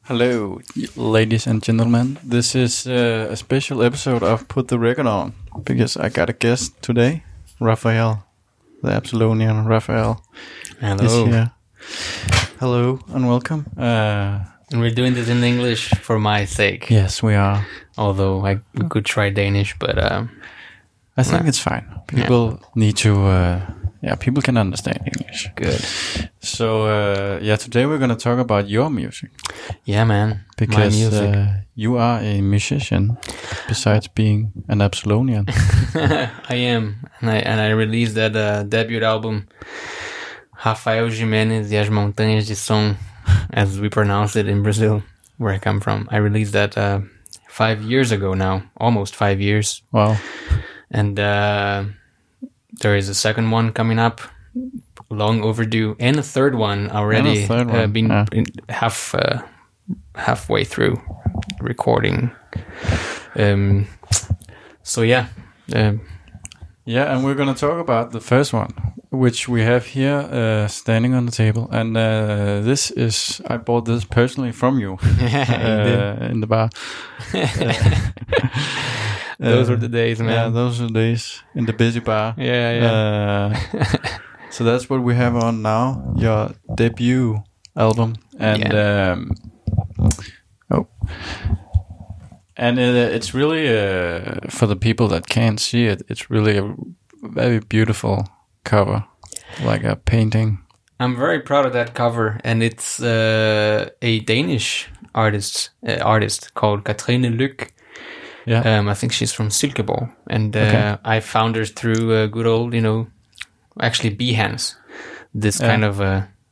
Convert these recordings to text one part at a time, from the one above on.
Hello, ladies and gentlemen. This is a special episode of Put the Record On because I got a guest today, Raphael, the Absolonian Raphael. Hello. Is here. Hello and welcome. And we're doing this in English for my sake. Yes, we are. Although we could try Danish, but I think it's fine. People need to. People can understand English. Good. So today we're going to talk about your music. Yeah, man. Because my music. You are a musician, besides being an Absolonian. I am, and I released that debut album, Rafael Jimenez e as Montanhas de Som, as we pronounce it in Brazil, where I come from. I released that 5 years ago now, almost 5 years. Wow. And there is a second one coming up, long overdue, and a third one already halfway through recording. And we're going to talk about the first one, which we have here standing on the table. And I bought this personally from you in the bar. Those were the days, man. Yeah, those are the days in the busy bar. Yeah. So that's what we have on now, your debut album. And it's really, for the people that can't see it, it's really a very beautiful cover, like a painting. I'm very proud of that cover, and it's a Danish artist called Katrine Lyk. Yeah. I think she's from Silkeborg, and I found her through good old, actually Behance, this kind of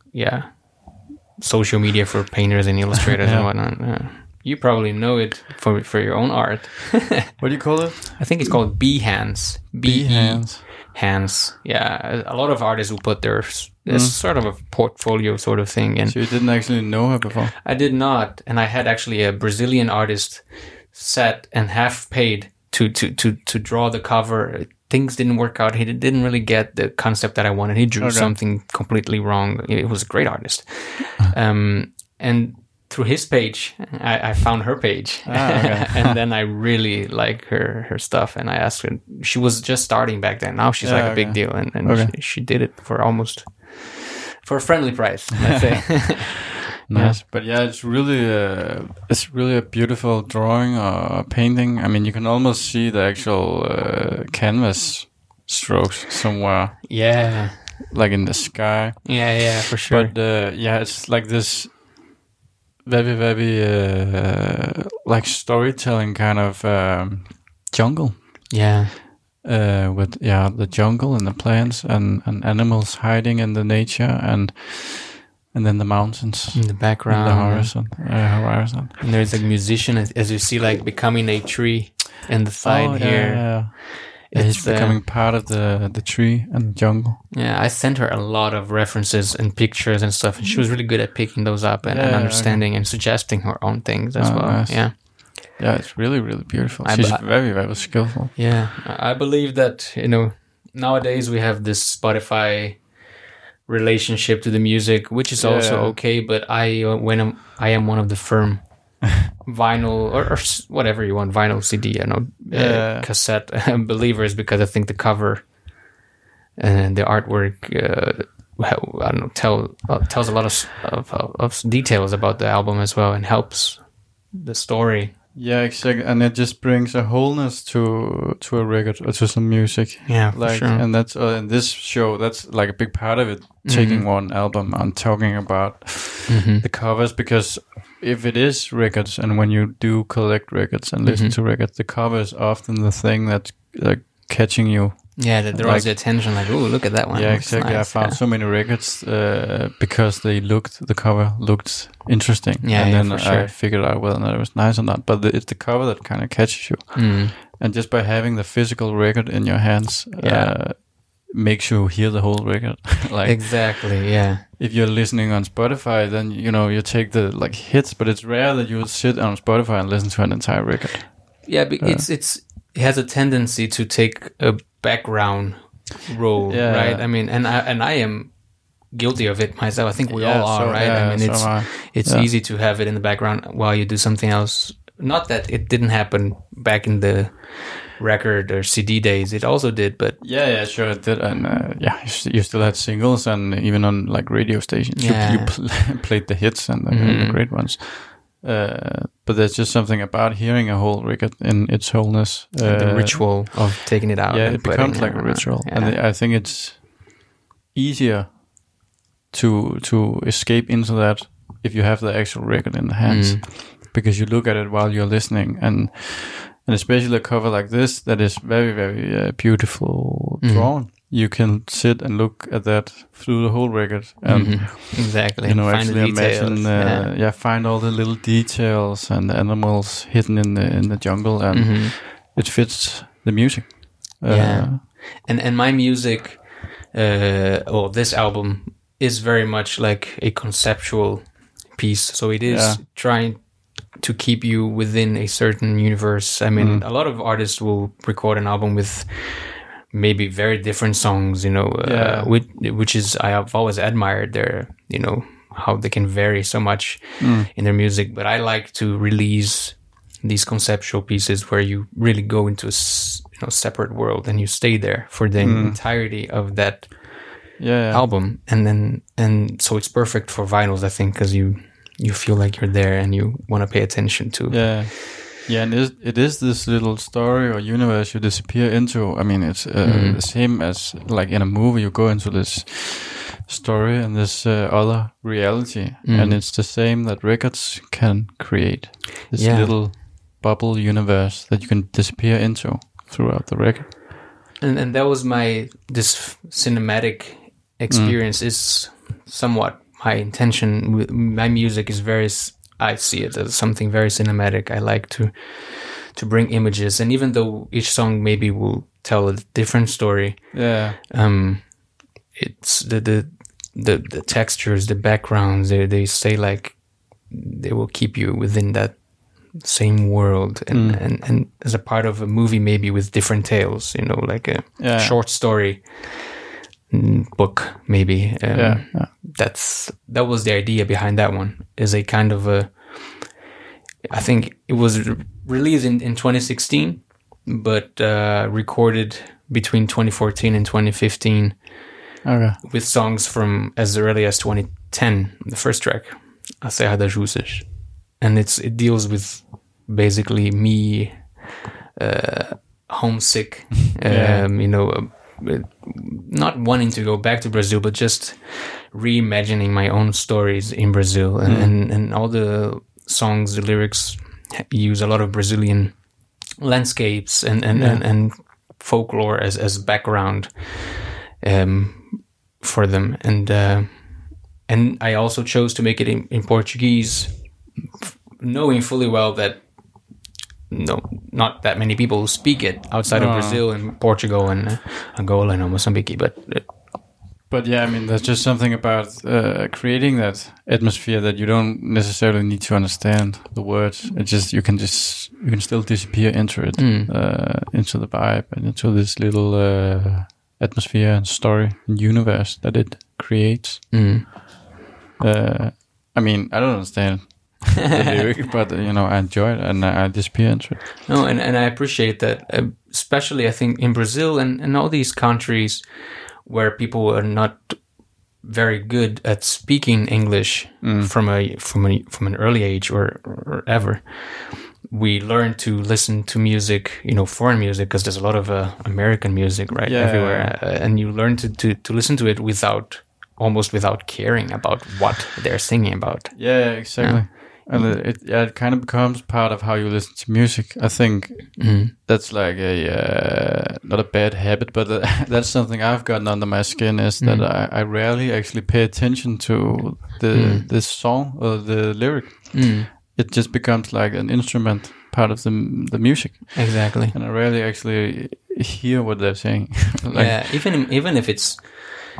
social media for painters and illustrators and whatnot. You probably know it for your own art. What do you call it? I think it's called Behance. Behance. Hands. Yeah, a lot of artists will put their it's sort of a portfolio sort of thing. And so you didn't actually know her before? I did not, and I had actually a Brazilian artist set and half paid to draw the cover. Things didn't work out. He didn't really get the concept that I wanted. He drew something completely wrong. It was a great artist. And through his page, I found her page. And then I really like her stuff. And I asked her, she was just starting back then. Now she's a big deal. And she did it for a friendly price, let's say. Nice, but it's really a beautiful drawing or painting. I mean, you can almost see the actual canvas strokes somewhere. Yeah, like in the sky. Yeah, for sure. But it's like this very, very like storytelling kind of jungle. Yeah. With the jungle and the plants and animals hiding in the nature and then the mountains in the background, the horizon. And there's a musician, as you see, like becoming a tree in the side here. Yeah. He's becoming part of the tree and the jungle. Yeah, I sent her a lot of references and pictures and stuff, and she was really good at picking those up and understanding and suggesting her own things as well. Nice. Yeah, it's really, really beautiful. She's very, very skillful. Yeah, I believe that nowadays we have this Spotify relationship to the music, which is also okay, but I am one of the firm vinyl or whatever you want, vinyl CD, cassette believers, because I think the cover and the artwork tells a lot of details about the album as well and helps the story. Yeah, exactly, and it just brings a wholeness to a record or to some music. Yeah, for sure. And that's in this show. That's like a big part of it. Taking one album and talking about the covers, because if it is records, and when you do collect records and listen to records, the cover is often the thing that's like catching you. Yeah, that draws your attention. Like, oh, look at that one. Yeah, exactly. Nice. I found so many records because the cover looked interesting. Yeah, and then for sure. I figured out whether or not it was nice or not. But it's the cover that kind of catches you. And just by having the physical record in your hands, makes you hear the whole record. Like, exactly. Yeah. If you're listening on Spotify, then you take the hits, but it's rare that you would sit on Spotify and listen to an entire record. Yeah, but it has a tendency to take a background role, right? I mean, and I am guilty of it myself. I think we all are, right? I mean, it's easy to have it in the background while you do something else. Not that it didn't happen back in the record or CD days. It also did, but sure it did. And you still had singles, and even on like radio stations, you played the hits and the great ones. But there's just something about hearing a whole record in its wholeness. The ritual of taking it out. Yeah, it becomes like a ritual, and I think it's easier to escape into that if you have the actual record in the hands, because you look at it while you're listening, and especially a cover like this that is very, very beautiful drawn. You can sit and look at that through the whole record, and exactly, find actually imagine, find all the little details and the animals hidden in the jungle, and it fits the music. And my music, this album is very much like a conceptual piece, so it is trying to keep you within a certain universe. I mean, a lot of artists will record an album with maybe very different songs, which is, I've always admired their, how they can vary so much in their music. But I like to release these conceptual pieces where you really go into a separate world and you stay there for the entirety of that album. And so it's perfect for vinyls, I think, because you feel like you're there and you want to pay attention to. Yeah, and it is this little story or universe you disappear into. I mean, it's the same as like in a movie, you go into this story and this other reality, and it's the same that records can create. This little bubble universe that you can disappear into throughout the record. And that was this cinematic experience is somewhat my intention. My music is I see it as something very cinematic. I like to bring images, and even though each song maybe will tell a different story, it's the textures, the backgrounds. They say like they will keep you within that same world, and as a part of a movie, maybe with different tales. Like a short story book, maybe. That was the idea behind that one. Is a kind of I think it was released in 2016, but recorded between 2014 and 2015 with songs from as early as 2010. The first track, A Serra das Jussas, and it deals with basically me homesick, not wanting to go back to Brazil, but just reimagining my own stories in Brazil. And all the songs, the lyrics use a lot of Brazilian landscapes and folklore as background for them. And I also chose to make it in Portuguese, knowing fully well that not that many people speak it outside of Brazil and Portugal and Angola and Mozambique, but yeah, I mean, there's just something about creating that atmosphere that you don't necessarily need to understand the words. It's just you can still disappear into it, into the vibe and into this little atmosphere and story and universe that it creates. I mean, I don't understand the lyric, but I enjoy it and I disappear into it. No, and I appreciate that, especially I think in Brazil and all these countries where people are not very good at speaking English from an early age or ever. We learn to listen to music, foreign music, because there's a lot of American music everywhere, and you learn to listen to it almost without caring about what they're singing about. Yeah, exactly. And it kind of becomes part of how you listen to music. I think that's like not a bad habit, but that's something I've gotten under my skin, is that I rarely actually pay attention to this song or the lyric. It just becomes like an instrument part of the music. Exactly. And I rarely actually hear what they're saying. Even if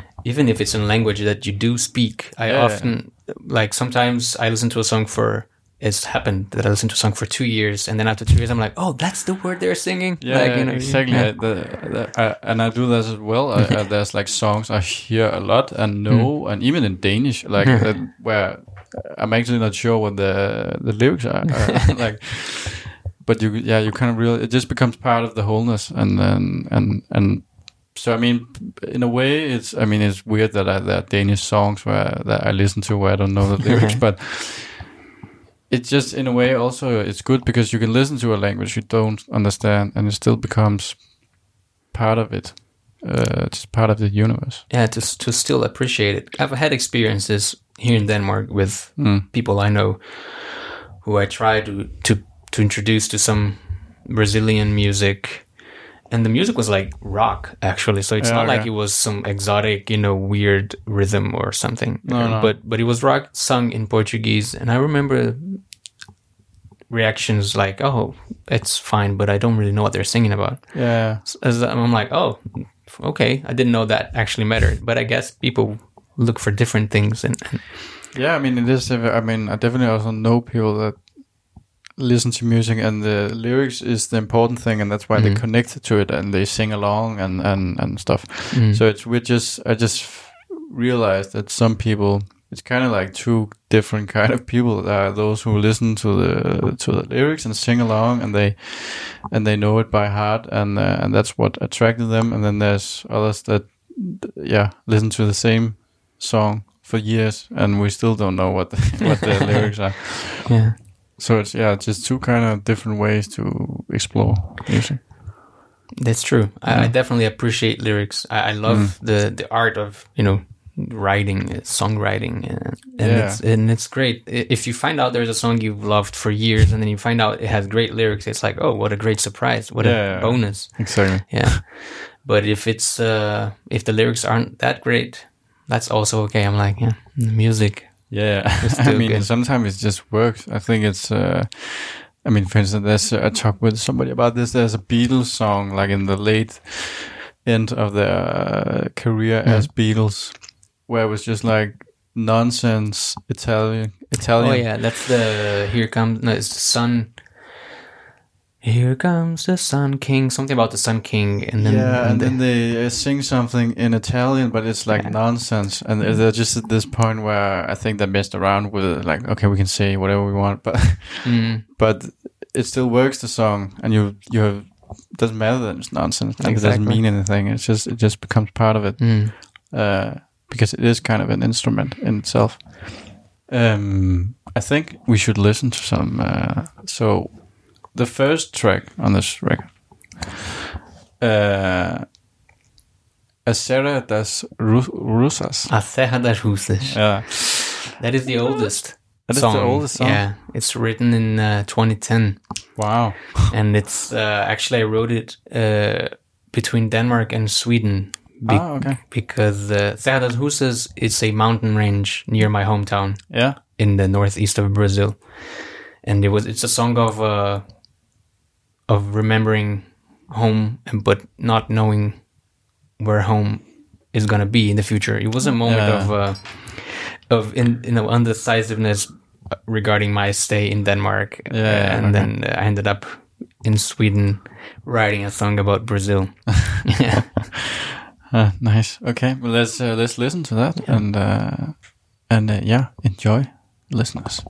it's a language that you do speak, I often, like, sometimes I listen to a song for it's happened that I listened to a song for 2 years, and then after 2 years, I'm like, oh, that's the word they're singing. Yeah, like, exactly. Yeah. And I do this as well. There's like songs I hear a lot and know, and even in Danish, like where I'm actually not sure what the lyrics are. Like, but you kind of really, it just becomes part of the wholeness, and then and. So I mean, in a way, it's weird that there are Danish songs that I listen to where I don't know the lyrics, but it's just in a way also it's good because you can listen to a language you don't understand and it still becomes part of it, just part of the universe. Yeah, to still appreciate it. I've had experiences here in Denmark with people I know who I try to introduce to some Brazilian music. And the music was like rock, actually. So it's not like it was some exotic, weird rhythm or something. No. But it was rock sung in Portuguese. And I remember reactions like, oh, it's fine, but I don't really know what they're singing about. Yeah. So I'm like, oh, okay. I didn't know that actually mattered. But I guess people look for different things. And yeah, I mean, it is. I mean, I definitely also know people that listen to music and the lyrics is the important thing, and that's why they connect to it and they sing along and stuff. So it's I just realized that some people, it's kind of like two different kind of people. There are those who listen to the lyrics and sing along, and they know it by heart, and that's what attracted them. And then there's others that listen to the same song for years, and we still don't know what the lyrics are. Yeah. So it's just two kind of different ways to explore music. That's true. I definitely appreciate lyrics. I love the art of writing, songwriting, and it's great. If you find out there's a song you've loved for years, and then you find out it has great lyrics, it's like, oh, what a great surprise! What a bonus! Exactly. Yeah. But if it's if the lyrics aren't that great, that's also okay. I'm like, the music. Yeah, I mean, good. Sometimes it just works. I think it's, for instance, I talked with somebody about this. There's a Beatles song, like in the late end of their career as Beatles, where it was just like nonsense Italian. Oh yeah, that's it's the Sun. Here comes the Sun King. Something about the Sun King, and then they sing something in Italian, but it's like nonsense. And they're just at this point where I think they messed around with it. Like, okay, we can say whatever we want, but but it still works. The song, and you have, it doesn't matter that it's nonsense. Like, it doesn't mean anything. It just becomes part of it because it is kind of an instrument in itself. I think we should listen to some. The first track on this record, A Serra das Rusas. A Serra das Rusas. Yeah. That is the oldest That song. is the oldest song? Yeah, it's written in 2010. Wow. And it's, actually I wrote it between Denmark and Sweden. Okay. Because Serra das Rusas is a mountain range near my hometown. Yeah. In the northeast of Brazil. And it's a song of remembering home, but not knowing where home is gonna be in the future. It was a moment of undecisiveness regarding my stay in Denmark, then I ended up in Sweden writing a song about Brazil. Yeah. Nice. Okay, well let's listen to that and enjoy, listeners.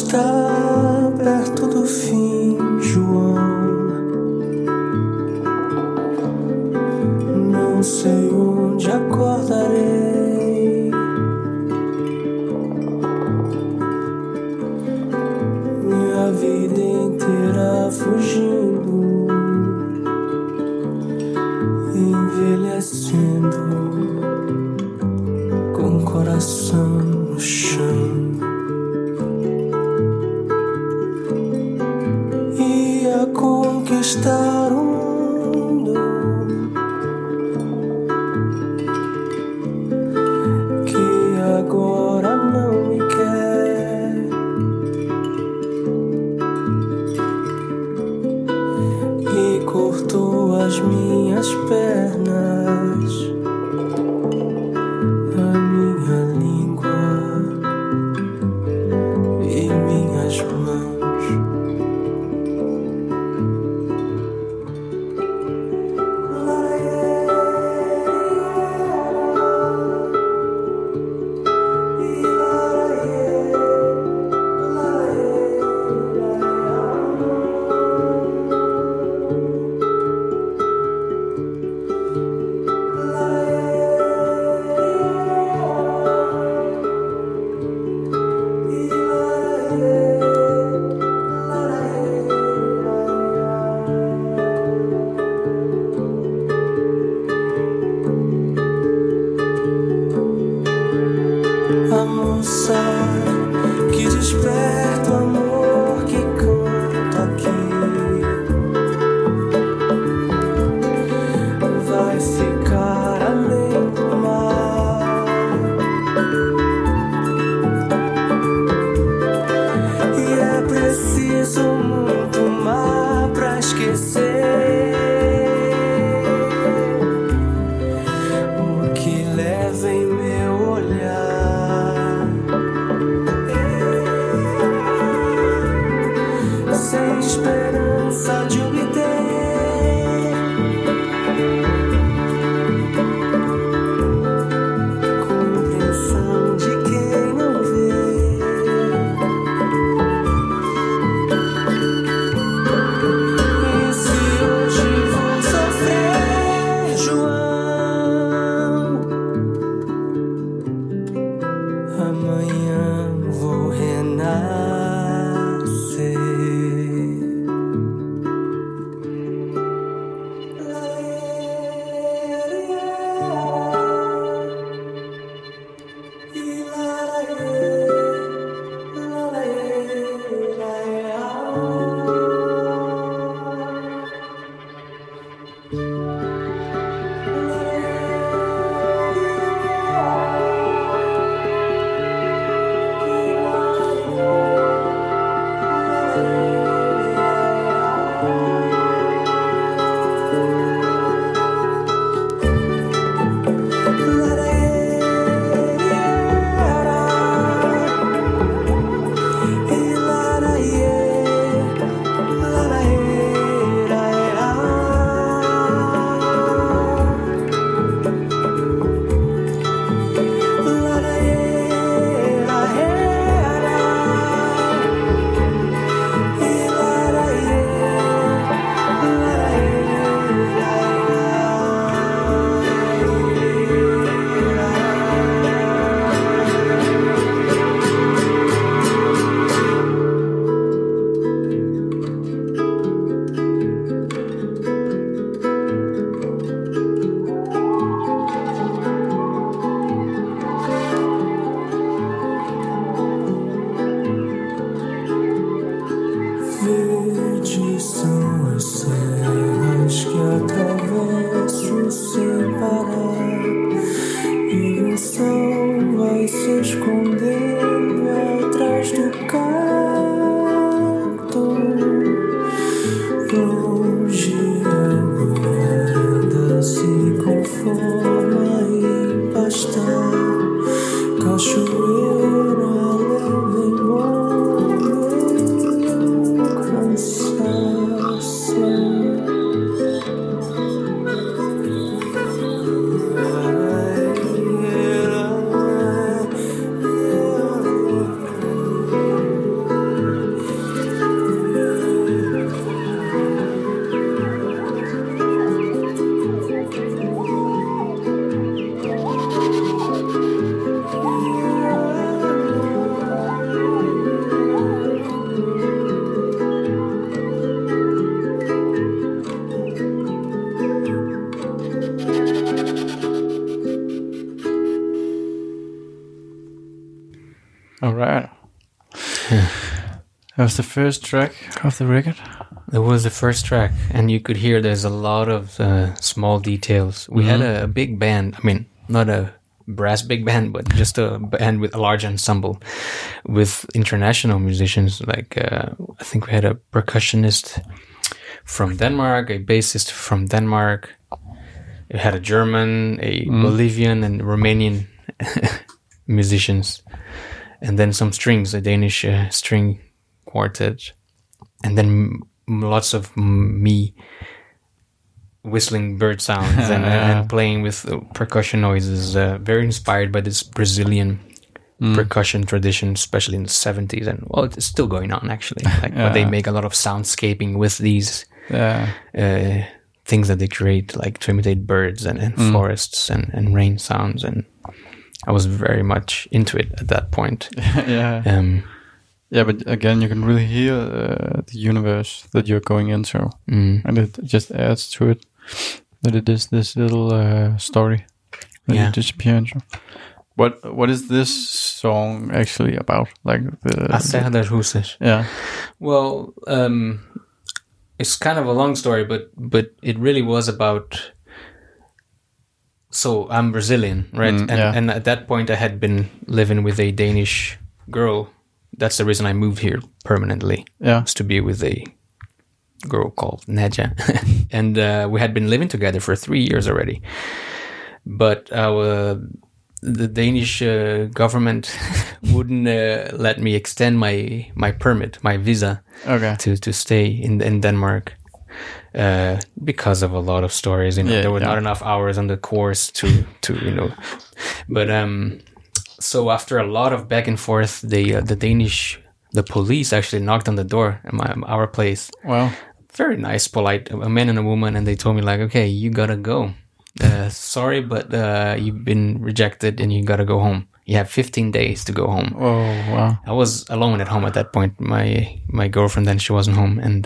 está perto do fim, João. Não sei onde acordarei. Minha vida inteira fugindo, envelhecendo, com o coração no chão. Ia conquistar o mundo, que agora não me quer. E cortou as minhas pernas, a minha língua e minhas mãos. A moça que desperta o amor que canta aqui vai ficar além do mar. E é preciso muito mar pra esquecer o que leva em meu olhar. Sem esperança de obter compreensão de quem não vê. E se hoje vou sofrer, João, amanhã vou renascer. All right. That was the first track of the record. It was the first track, and you could hear there's a lot of small details. We had a big band. I mean, not a brass big band, but just a band with a large ensemble with international musicians. Like I think we had a percussionist from Denmark, a bassist from Denmark. We had a German, a Bolivian, and Romanian musicians, and then some strings, a Danish string quartet, and then lots of me whistling bird sounds and playing with percussion noises, very inspired by this Brazilian percussion tradition, especially in the 70s. And well, it's still going on actually. But they make a lot of soundscaping with these things that they create, like to imitate birds and forests and rain sounds. And I was very much into it at that point. Yeah, but again, you can really hear the universe that you're going into, and it just adds to it that it is this little story that you disappear into. What is this song actually about? Like A Serra das Russas. Yeah. Well, it's kind of a long story, but it really was about. So I'm Brazilian, right? And at that point, I had been living with a Danish girl. That's the reason I moved here permanently. Yeah. Was to be with a girl called Nadja. And we had been living together for 3 years already. But the Danish government wouldn't let me extend my permit, my visa, to stay in Denmark. Because of a lot of stories, there were not enough hours on the course to but so after a lot of back and forth, the police actually knocked on the door at our place. Wow. Very nice, polite, a man and a woman, and they told me like, okay, you gotta go. Sorry, but you've been rejected and you gotta go home. You have 15 days to go home. Oh, wow. I was alone at home at that point. My girlfriend then, she wasn't home, and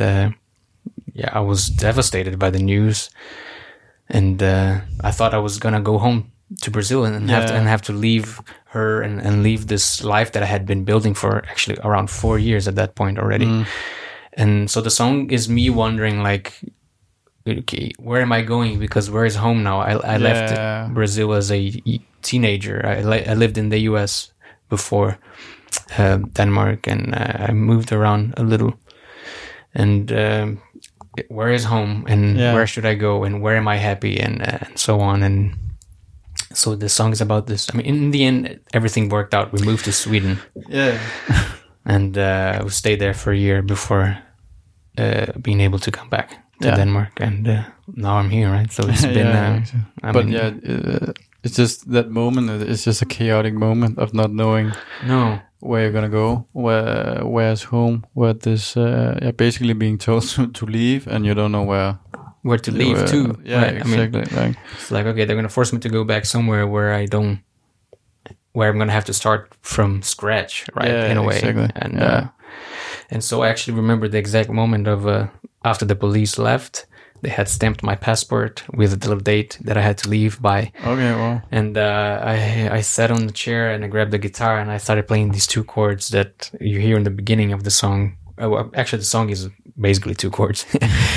I was devastated by the news, and I thought I was gonna go home to Brazil and have to leave her and leave this life that I had been building for actually around 4 years at that point already. And so the song is me wondering like, okay, where am I going? Because where is home now? I left Brazil as a teenager. I lived in the US before Denmark, and I moved around a little. And where is home? And where should I go? And where am I happy? And so on. And so the song is about this. I mean, in the end, everything worked out. We moved to Sweden. Yeah. And we stayed there for a year before being able to come back to Denmark. And now I'm here, right? So it's been... it's just that moment. It's just a chaotic moment of not knowing where you're going to go, where's home, where this... basically being told to leave, and you don't know where to leave too. Yeah, right? Exactly. I mean, it's like, okay, they're going to force me to go back somewhere where I'm going to have to start from scratch, right? Yeah, in a way. Exactly. And so I actually remember the exact moment of after the police left, they had stamped my passport with a little date that I had to leave by. Okay, wow. And I sat on the chair and I grabbed the guitar and I started playing these 2 chords that you hear in the beginning of the song. Actually, the song is basically 2 chords.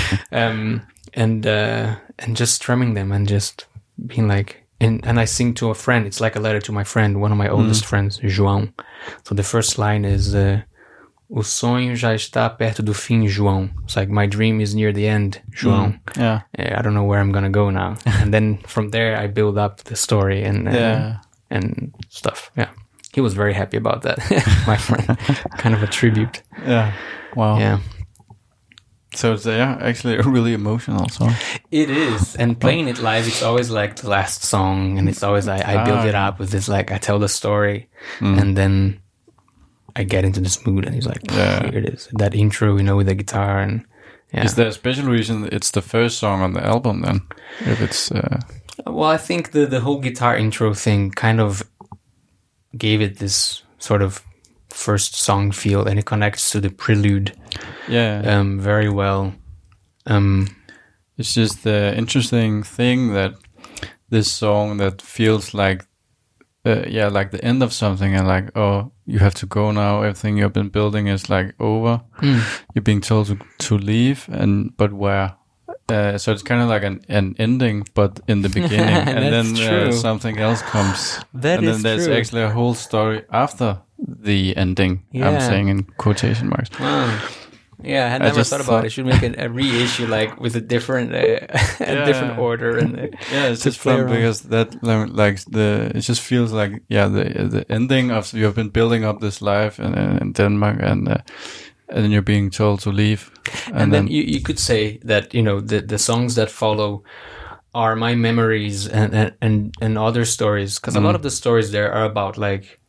And just strumming them and just being like, and I sing to a friend. It's like a letter to my friend, one of my oldest friends, João. So the first line is, o sonho já está perto do fim, João. It's like, my dream is near the end, João. I don't know where I'm gonna go now. And then from there, I build up the story and stuff. Yeah. He was very happy about that, my friend. Kind of a tribute. Yeah. Wow. Yeah. So it's actually a really emotional song. It is, and playing it live, it's always like the last song, and it's always I build it up with this, like I tell the story, and then I get into this mood, and he's like, here it is, that intro, with the guitar, and Is there a special reason it's the first song on the album then? If it's well, I think the whole guitar intro thing kind of gave it this sort of first song feel, and it connects to the prelude very well. It's just the interesting thing that this song that feels like like the end of something, and like, oh, you have to go now. Everything you've been building is like over. You're being told to leave, but where? So it's kind of like an ending, but in the beginning, and then something else comes. That and is then there's true. actually a whole story after the ending. Yeah. I'm saying in quotation marks. Wow. Yeah, I had never just thought about thought- it. Should make a reissue like with a different different order and Yeah, it's to just play fun around. because that like it just feels like the ending of you have been building up this life in Denmark, and then you're being told to leave, and then you could say that the songs that follow are my memories and other stories, because a lot of the stories there are about like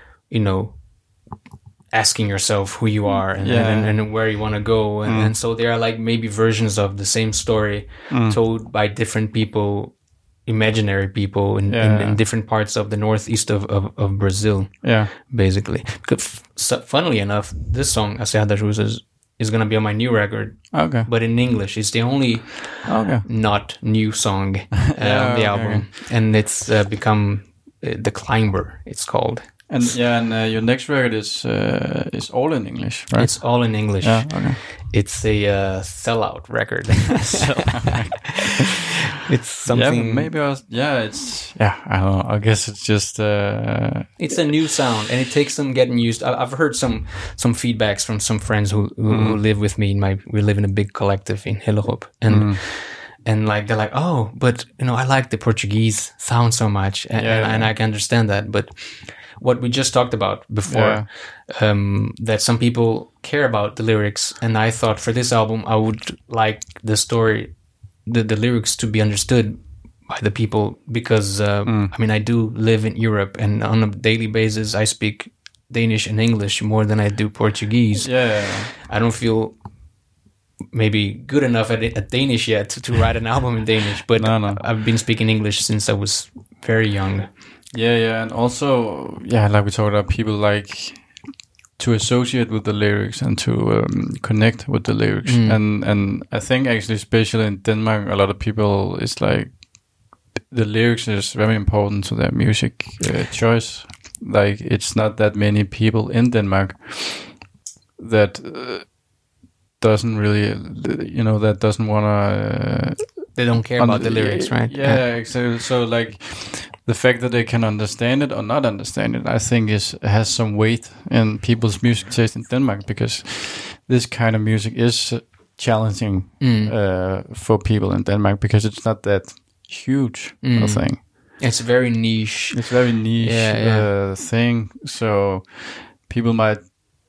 asking yourself who you are and where you want to go, and so they are like maybe versions of the same story told by different people, imaginary people in different parts of the northeast of Brazil, basically. Because, funnily enough, this song A Serra das Rosas is going to be on my new record, okay, but in English. It's the only not new song on the album, and it's become The Climber, it's called. And your next record is all in English, right? It's all in English. Yeah, okay. It's a sellout record. It's something. Yeah, maybe it's I don't know. I guess it's just. It's a new sound, and it takes some getting used. I've heard some feedbacks from some friends who live with me. We live in a big collective in Hellerup, and like they're like, oh, but I like the Portuguese sound so much, and I can understand that, but. What we just talked about before, that some people care about the lyrics, and I thought for this album I would like the story, the lyrics to be understood by the people, because I do live in Europe, and on a daily basis I speak Danish and English more than I do Portuguese. I don't feel maybe good enough at Danish yet to write an album in Danish, but No. I've been speaking English since I was very young. Yeah, and also, like we talked about, people like to associate with the lyrics and to connect with the lyrics. And I think actually, especially in Denmark, a lot of people is like, the lyrics is very important to their music choice. Like, it's not that many people in Denmark that doesn't really, that doesn't want to... They don't care about the lyrics, right? Yeah, exactly. So like the fact that they can understand it or not understand it, I think has some weight in people's music taste in Denmark, because this kind of music is challenging for people in Denmark, because it's not that huge a thing. It's very niche. It's very niche thing. So people might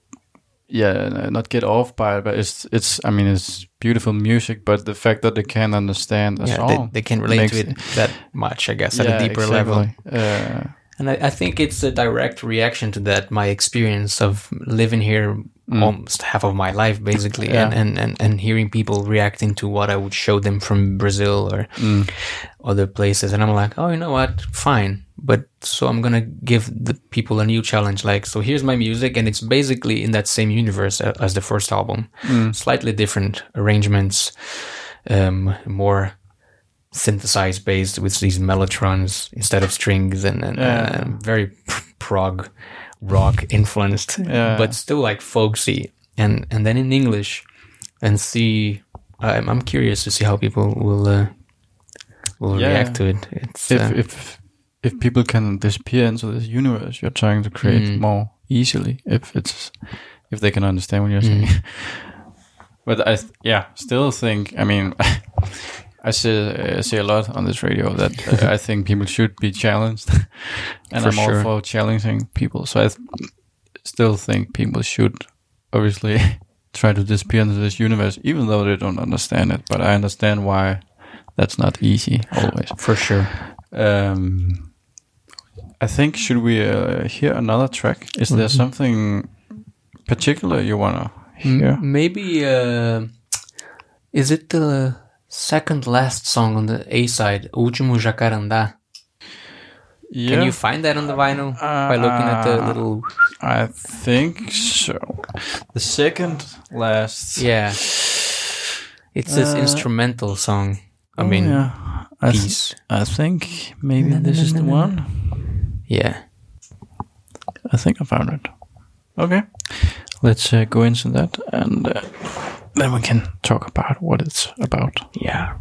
not get off by it, but it's beautiful music, but the fact that they can't understand the song, they can relate to it that much, I guess, at a deeper level. And I think it's a direct reaction to that, my experience of living here almost half of my life, basically, and hearing people reacting to what I would show them from Brazil or other places. And I'm like, oh, you know what? Fine. But so I'm going to give the people a new challenge. Like, so here's my music, and it's basically in that same universe as the first album. Slightly different arrangements, more synthesized based with these mellotrons instead of strings, and very prog rock influenced, but still like folksy, and then in English, and see. I'm curious to see how people will react to it. It's if people can disappear into this universe you're trying to create more easily, if they can understand what you're saying. But I still think, I say a lot on this radio that I think people should be challenged, and I'm all for challenging people. So I still think people should obviously try to disappear into this universe, even though they don't understand it. But I understand why that's not easy always. For sure. I think, should we hear another track? Is there something particular you want to hear? Maybe, is it the second last song on the A side, Último Jacarandá? Yeah. Can you find that on the vinyl by looking at the little... I think so. The second last... Yeah. It's this instrumental song. Piece. I think maybe this is the one. Yeah. I think I found it. Okay. Let's go into that, and then we can talk about what it's about. Yeah.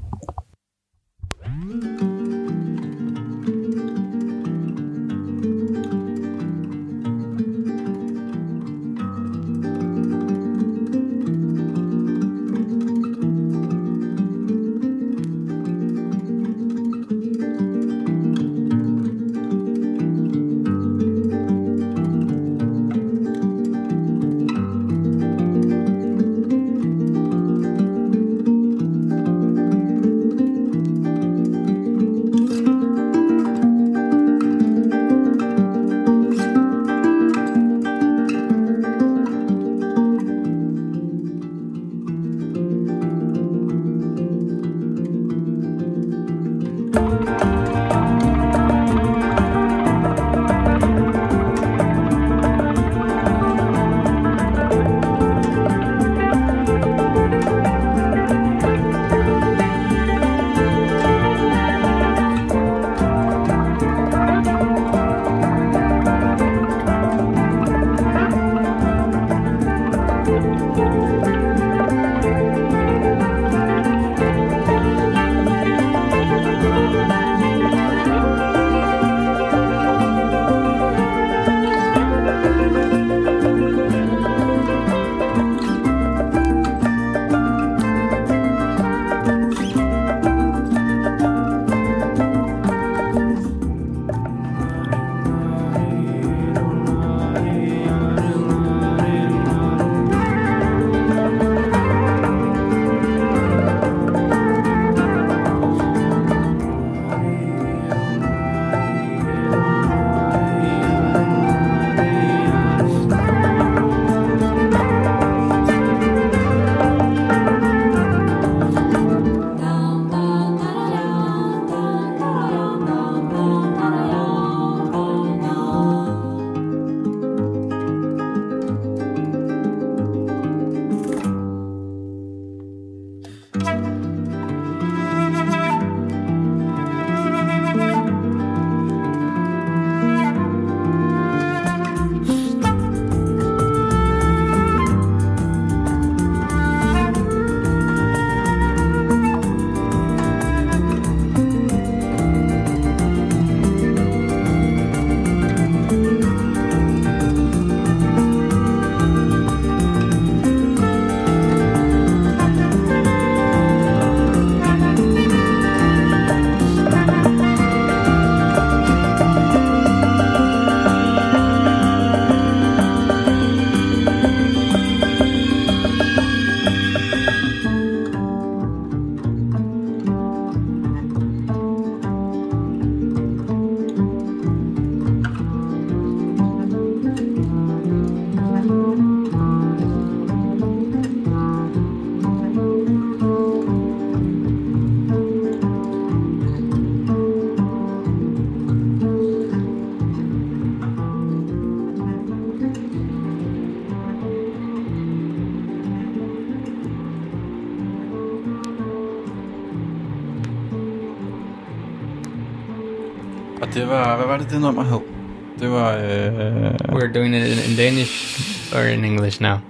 Og det var, hvad var det nummer hed? Det var... We're doing it in Danish or in English now?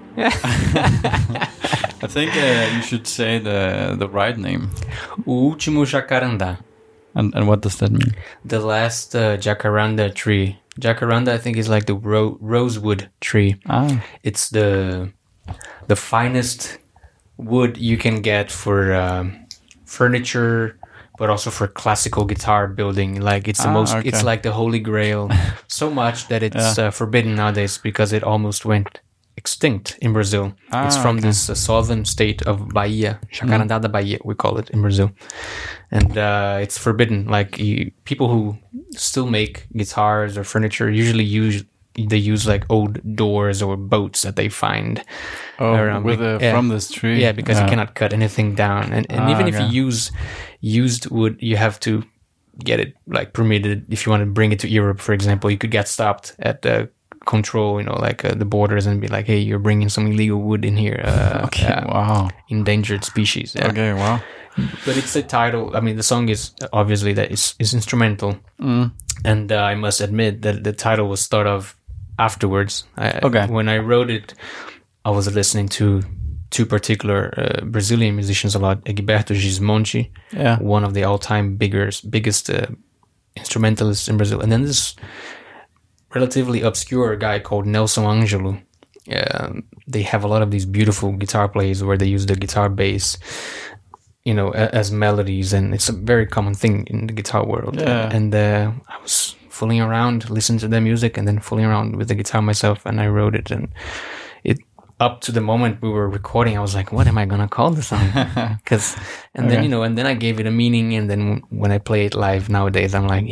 I think you should say the right name. O último jacarandá. And what does that mean? The last jacaranda tree. Jacaranda, I think, is like the rosewood tree. Ah. It's the finest wood you can get for furniture, but also for classical guitar building. Like it's the most. Okay. It's like the holy grail. So much that it's forbidden nowadays because it almost went extinct in Brazil. It's from this southern state of Bahia, Jacarandá da Bahia, we call it in Brazil, and it's forbidden. Like people who still make guitars or furniture usually use like old doors or boats that they find around from this tree. Yeah, because you cannot cut anything down, and even if you use used wood, you have to get it like permitted. If you want to bring it to Europe, for example, you could get stopped at the control, the borders, and be like, hey, you're bringing some illegal wood in here. Wow. Endangered species. Yeah. Okay, wow. But it's the title. I mean, the song is obviously that is instrumental. And I must admit that the title was thought of afterwards. When I wrote it, I was listening to two particular Brazilian musicians a lot, Egberto Gismonti, one of the all-time biggest instrumentalists in Brazil, and then this relatively obscure guy called Nelson Angelo. They have a lot of these beautiful guitar plays where they use the guitar bass, as melodies, and it's a very common thing in the guitar world. Yeah. And I was fooling around, listening to their music, and then fooling around with the guitar myself, and I wrote it. And it, up to the moment we were recording, I was like, what am I gonna call the song? Then I gave it a meaning, and then when I play it live nowadays, I'm like,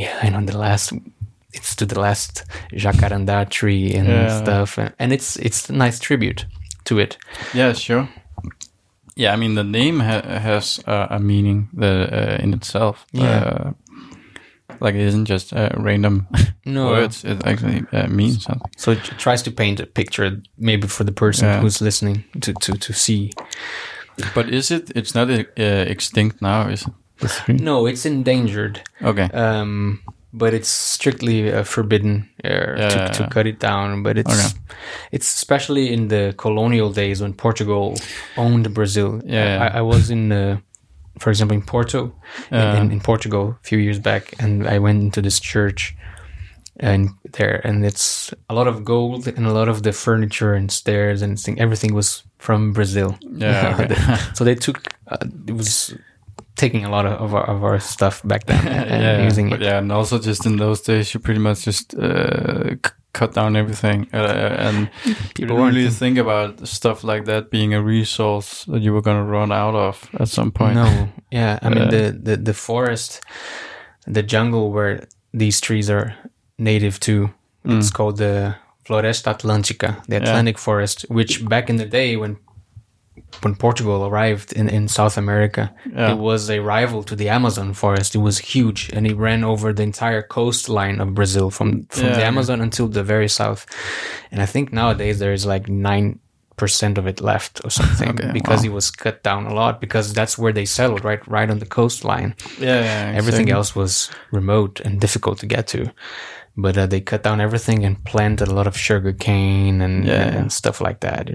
it's to the last jacaranda tree and stuff, and it's a nice tribute to it. Yeah, sure. Yeah, I mean the name has a meaning in itself. Yeah. Like it isn't just random words. It actually means something. So it tries to paint a picture, maybe for the person who's listening to see. But is it? It's not extinct now, is it? No, it's endangered. Okay. But it's strictly forbidden to cut it down. But it's especially in the colonial days when Portugal owned Brazil. Yeah. I was for example, in Porto, in Portugal a few years back, and I went into this church and it's a lot of gold, and a lot of the furniture and stairs and everything was from Brazil. Yeah. Okay. So they took it was taking a lot of our stuff back then and using it. Yeah, and also just in those days, you pretty much just cut down everything, and you don't really think about stuff like that being a resource that you were going to run out of at some point. No, yeah, I mean the forest, the jungle where these trees are native to, it's called the Floresta Atlântica, the Atlantic forest, which back in the day when Portugal arrived in South America, it was a rival to the Amazon forest. It was huge, and it ran over the entire coastline of Brazil from the Amazon until the very south. And I think nowadays there is like 9% of it left or something, because it was cut down a lot, because that's where they settled, right on the coastline. Exactly. Everything else was remote and difficult to get to. But they cut down everything and planted a lot of sugar cane and stuff like that,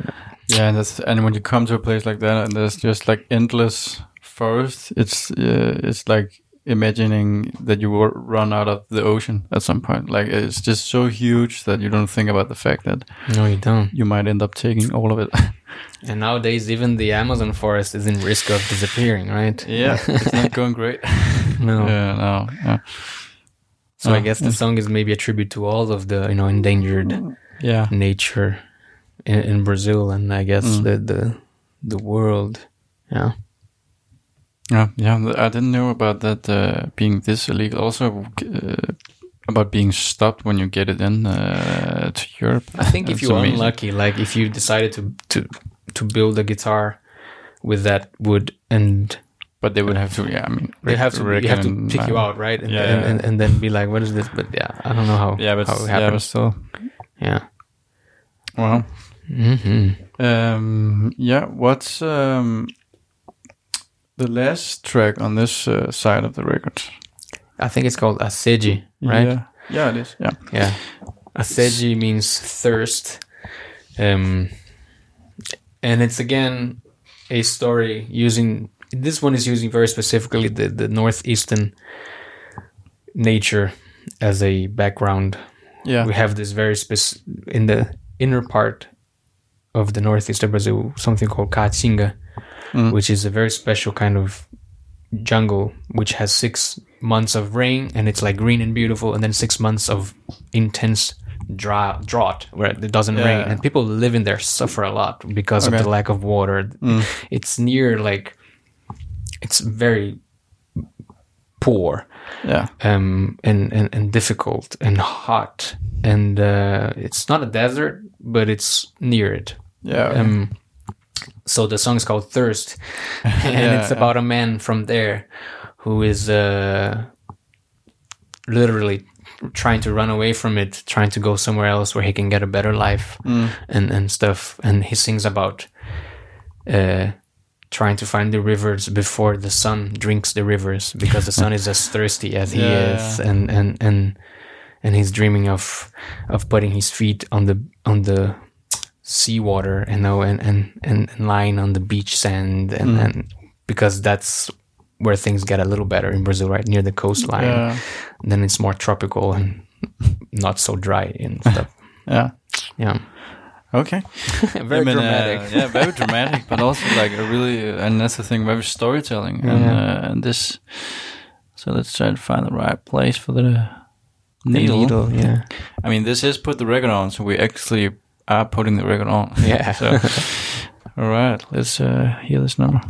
and when you come to a place like that and there's just like endless forest, it's like imagining that you will run out of the ocean at some point. Like it's just so huge that you don't think about the fact that you don't. You might end up taking all of it. And nowadays, even the Amazon forest is in risk of disappearing, right? Yeah, it's not going great. No. Yeah. So I guess the song is maybe a tribute to all of the endangered nature in Brazil, and I guess the world. Yeah. Yeah. I didn't know about that being this illegal. Also, about being stopped when you get it in to Europe. I think if you're unlucky, like if you decided to build a guitar with that wood and. But they would have to, they have to pick you out, right? And then be like, what is this? But I don't know how. Yeah, but how it happens. But still. Yeah. Well. Mm-hmm. What's the last track on this side of the record? I think it's called Assédio, right? Yeah, it is. Yeah. Assédio means thirst, and it's again a story using. This one is using very specifically the northeastern nature as a background. Yeah, we have this very in the inner part of the northeast of Brazil, something called Caatinga, which is a very special kind of jungle, which has 6 months of rain and it's like green and beautiful, and then 6 months of intense drought where it doesn't rain, and people living there suffer a lot because of the lack of water. It's near it's very poor, and difficult and hot, and it's not a desert, but it's near it. So the song is called Thirst, and it's about a man from there who is literally trying to run away from it, trying to go somewhere else where he can get a better life and stuff. And he sings about trying to find the rivers before the sun drinks the rivers, because the sun is as thirsty as he is, and he's dreaming of putting his feet on the seawater, and lying on the beach sand, and because that's where things get a little better in Brazil, right near the coastline. Yeah. Then it's more tropical and not so dry and stuff. Yeah. Okay. Very dramatic. Very dramatic, but also like a really, and that's the thing, very storytelling. And this, so let's try to find the right place for the needle. Yeah. I mean, this is put the record on, so we actually are putting the record on. Yeah. So, all right, let's hear this number.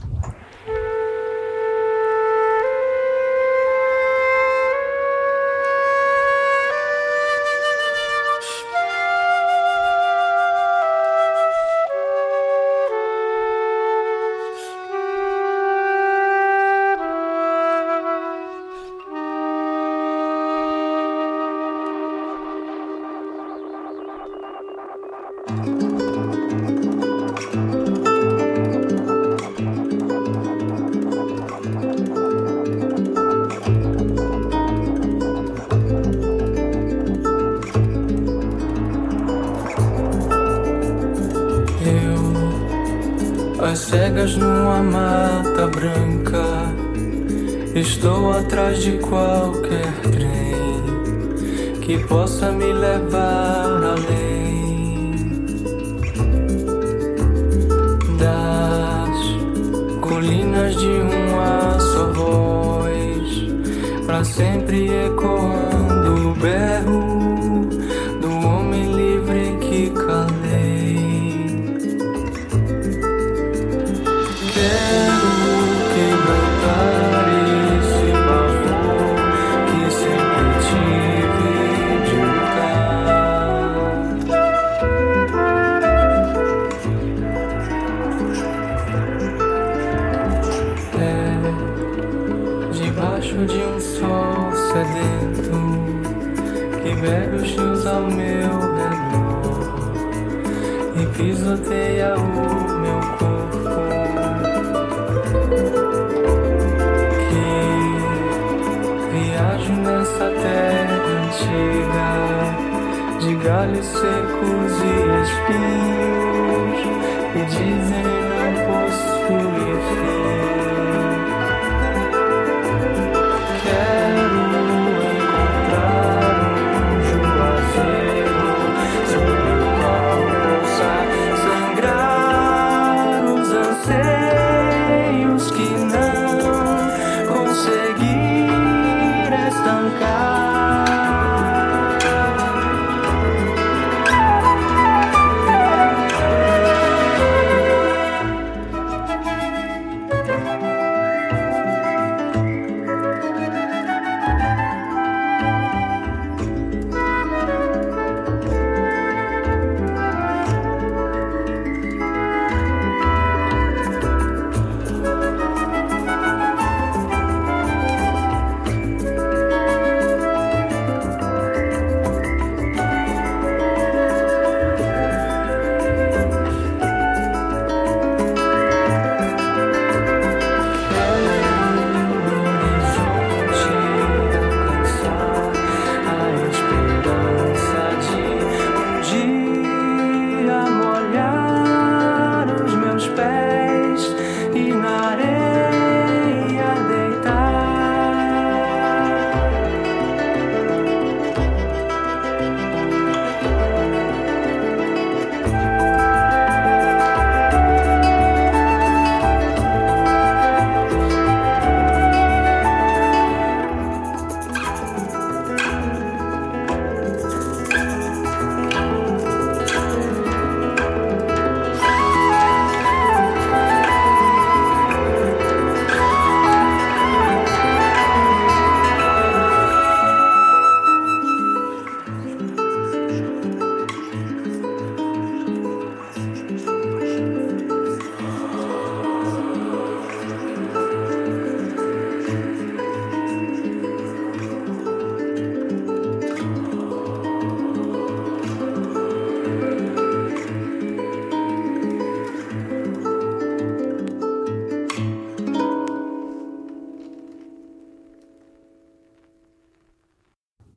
Às cegas numa mata branca, estou atrás de qualquer trem que possa me levar além das colinas de uma só voz, pra sempre ecoando o berro do homem livre que calei. Quero quebrantar esse pavor que sempre tive de lutar. É debaixo de um sol sedento que bebe os rios ao meu redor e pisoteia o meu corpo. Viajo nessa terra antiga de galhos secos e espinhos que dizem não possuir fim. Quero encontrar um juazeiro sobre o qual possa sangrar os anseios que não consegui estancar.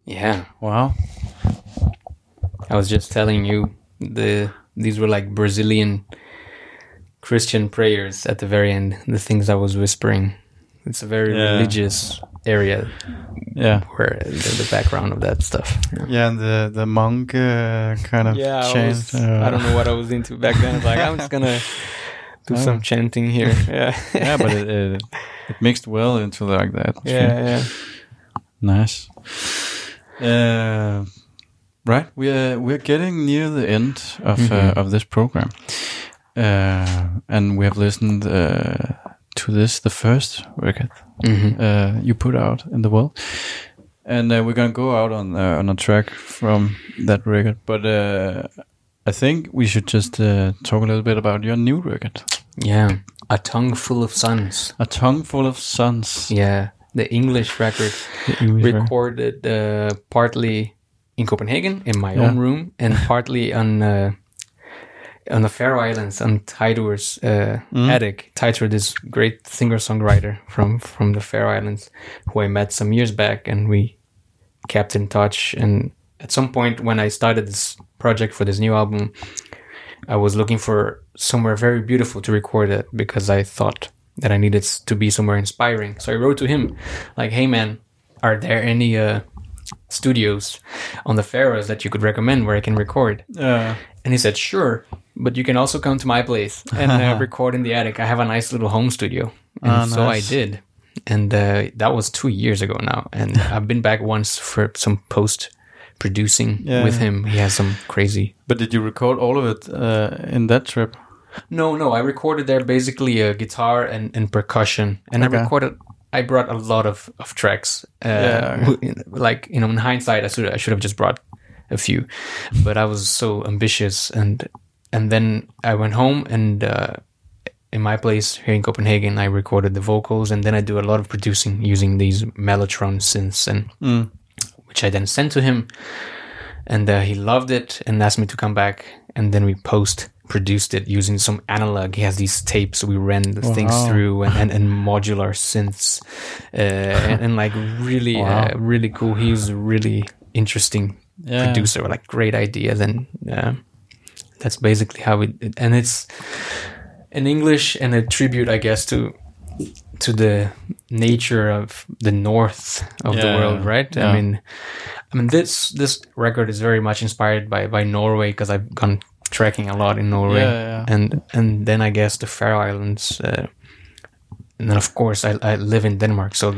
Yeah. Wow. I was just telling you these were like Brazilian Christian prayers at the very end. The things I was whispering. It's a very religious area. Yeah. Where the background of that stuff. Yeah, and the monk kind of chant. I don't know what I was into back then. I was like, I'm just gonna do some chanting here. Yeah. Yeah, but it mixed well into like that. Yeah. Nice. Right, we're getting near the end of this program, and we have listened to the first record you put out in the world, and we're gonna go out on a track from that record. But I think we should just talk a little bit about your new record. Yeah, A Tongue Full of Suns. A Tongue Full of Suns. Yeah, the English record, recorded partly in Copenhagen in my own room, and partly on the Faroe Islands on Teitur's attic. Teitur, this great singer-songwriter from the Faroe Islands, who I met some years back, and we kept in touch. And at some point when I started this project for this new album, I was looking for somewhere very beautiful to record it, because I thought that I needed to be somewhere inspiring. So I wrote to him like, hey man, are there any studios on the Faroes that you could recommend where I can record? And he said, sure, but you can also come to my place and record in the attic. I have a nice little home studio. And so nice. I did. And that was 2 years ago now. And I've been back once for some post-producing with him. He has some crazy... But did you record all of it in that trip? No. I recorded there basically a guitar and percussion. And I brought a lot of tracks. Like, in hindsight, I should have just brought a few. But I was so ambitious. And then I went home, and in my place here in Copenhagen, I recorded the vocals. And then I do a lot of producing using these Mellotron synths, which I then sent to him. And he loved it and asked me to come back. And then we produced it using some analog. He has these tapes we ran things through, and modular synths, and like really really cool. He's a really interesting producer with like great ideas, and that's basically how and it's in English and a tribute, I guess, to the nature of the north of the world, right? I mean this record is very much inspired by Norway, because I've gone trekking a lot in Norway, and then I guess the Faroe Islands, and then of course I live in Denmark. So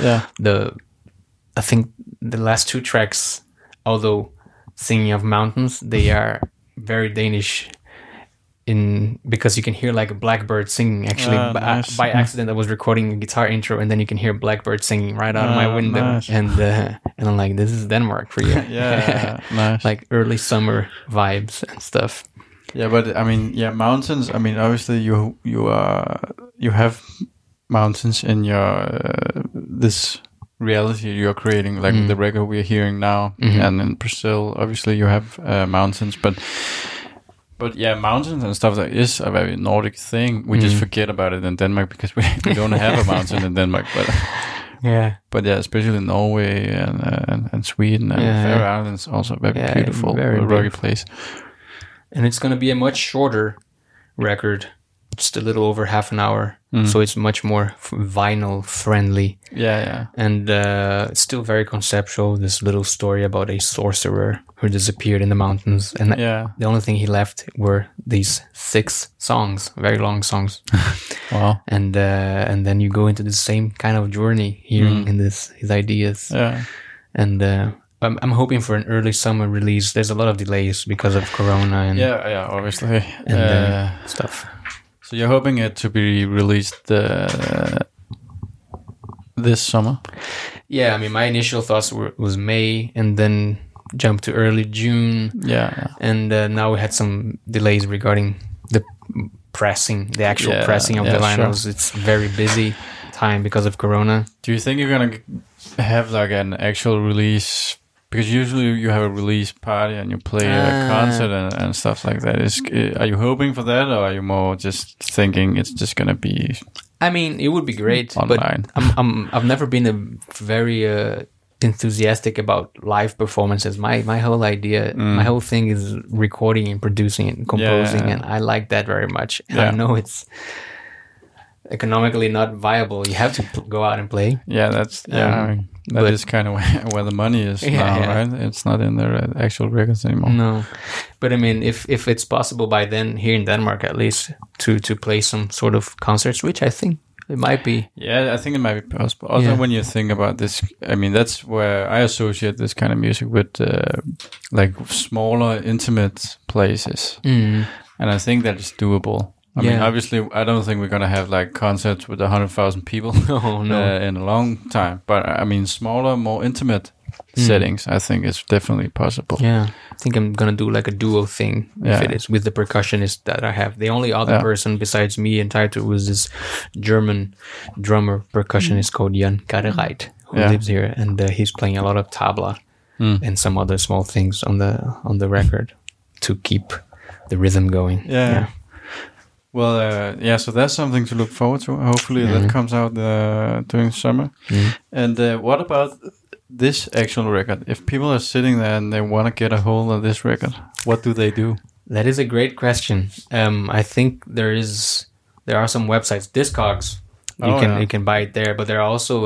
I think the last two tracks, although singing of mountains, they are very Danish. Because you can hear like a blackbird singing. Actually, by accident, I was recording a guitar intro, and then you can hear blackbird singing right out of my window, and I'm like, this is Denmark for you. Nice. Like early summer vibes and stuff. Yeah, but I mean, mountains. I mean, obviously you have mountains in your this reality you're creating, like the record we're hearing now, and in Brazil, obviously you have mountains, but mountains and stuff like is a very Nordic thing. We just forget about it in Denmark because we don't have a mountain in Denmark. But especially Norway and Sweden and Faroe Islands, also very beautiful, very rocky place. And it's going to be a much shorter record, just a little over half an hour. So it's much more vinyl friendly. And it's still very conceptual. This little story about a sorcerer who disappeared in the mountains, and the only thing he left were these 6 songs, very long songs. Wow. And then you go into the same kind of journey, hearing in his ideas. And I'm hoping for an early summer release. There's a lot of delays because of Corona and obviously, and stuff. So you're hoping it to be released this summer? Yeah, I mean, my initial thoughts was May, and then jumped to early June. And now we had some delays regarding the actual pressing of the vinyls. It's very busy time because of Corona. Do you think you're gonna have like an actual release? Because usually you have a release party and you play a concert and stuff like that. Are you hoping for that, or are you more just thinking it's just gonna be? I mean, it would be great, online. But I've never been a very enthusiastic about live performances. My whole idea, my whole thing is recording and producing and composing, and I like that very much. And I know it's economically not viable. You have to go out and play. Yeah, that's I mean, that is kind of where the money is now, right? It's not in the actual records anymore. No, but I mean, if it's possible by then here in Denmark at least to play some sort of concerts, which I think it might be. Yeah, I think it might be possible. Also, when you think about this, I mean, that's where I associate this kind of music with like smaller, intimate places, and I think that is doable. I mean, obviously, I don't think we're going to have like concerts with 100,000 people in a long time. But I mean, smaller, more intimate settings, I think is definitely possible. Yeah, I think I'm going to do like a duo thing if it is with the percussionist that I have. The only other person besides me and Taito was this German drummer percussionist called Jan Karreit, who lives here, and he's playing a lot of tabla and some other small things on the record to keep the rhythm going. Yeah. Well, so that's something to look forward to. Hopefully that comes out during summer. And what about this actual record? If people are sitting there and they want to get a hold of this record, what do they do? That is a great question. I think there are some websites, Discogs. You can buy it there, but there are also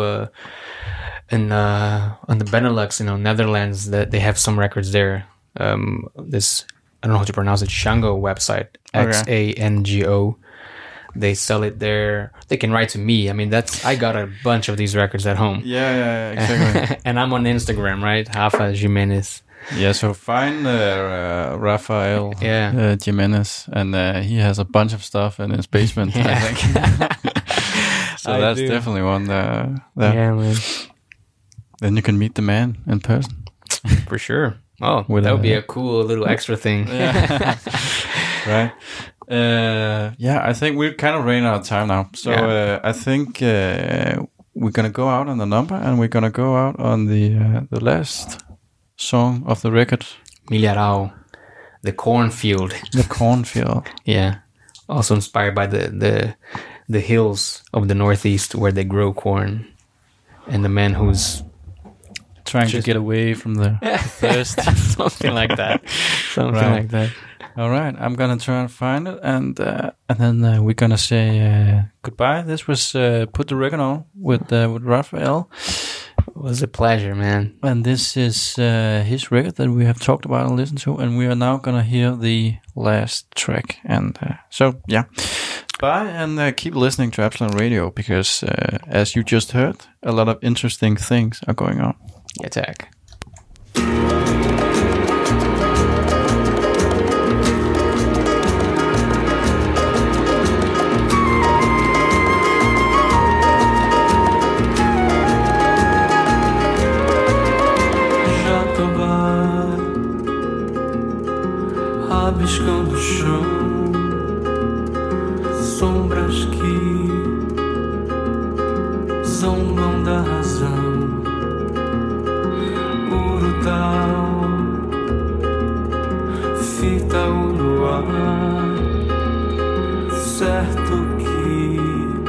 on the Benelux, Netherlands, that they have some records there. This, I don't know how to pronounce it, Xango website, Xango. They sell it there. They can write to me. I mean, I got a bunch of these records at home. Yeah, exactly. And I'm on Instagram, right? Rafa Jimenez. Yeah, so find Rafael Jimenez, and he has a bunch of stuff in his basement, I think. So that's definitely one there. Yeah, man. Then you can meet the man in person. For sure. Oh, that would be a cool little extra thing. Right. I think we're kind of running out of time now. So I think we're going to go out on the number, and we're going to go out on the last song of the record. Milharal, The Cornfield. The Cornfield. Yeah. Also inspired by the hills of the Northeast where they grow corn. And the man who's trying to get away from the thirst. Something like that. Like that. All right, I'm gonna try and find it, and then we're gonna say goodbye. This was Put the Record On with Rafael. It was a pleasure, man. And this is his record that we have talked about and listened to, and we are now gonna hear the last track. And bye, and keep listening to Absalon Radio, because as you just heard, a lot of interesting things are going on. Attack. Rabiscando o chão, sombras que zombam da razão. Urutau, fita o luar, certo que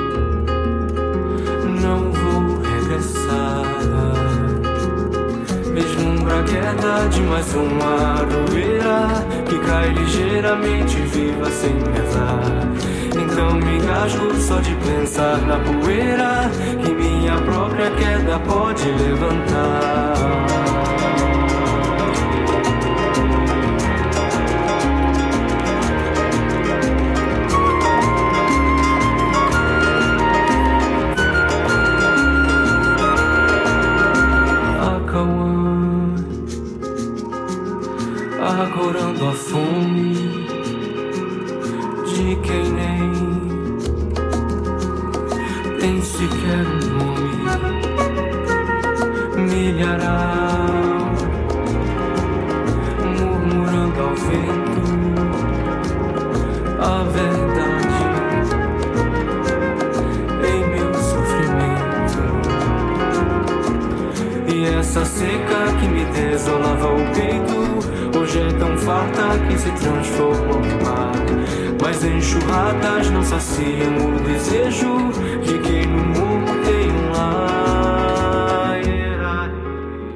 não vou regressar. Vislumbra a queda de mais uma aroeira que cai ligeiramente viva sem pesar. Então me engasgo só de pensar na poeira que minha própria queda pode levantar. Agorando a fome de quem nem tem sequer um nome. Milharal, murmurando ao vento a verdade em meu sofrimento. E essa seca que me desolava o peito hoje é tão farta que se transformou em mar. Mas enxurradas não saciam o desejo de quem no mundo tem um lar.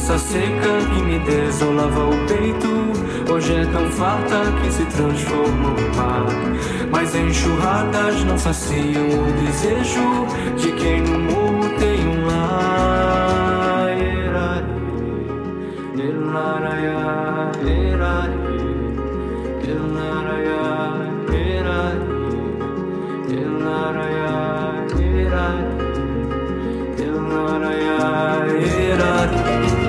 Essa seca que me desolava o peito, hoje é tão farta que se transforma em mar. Mas enxurradas não saciam o desejo de quem no morro tem um lar. Elaraya, erari, elaraya, erari, elaraya, erari, elaraya, erari.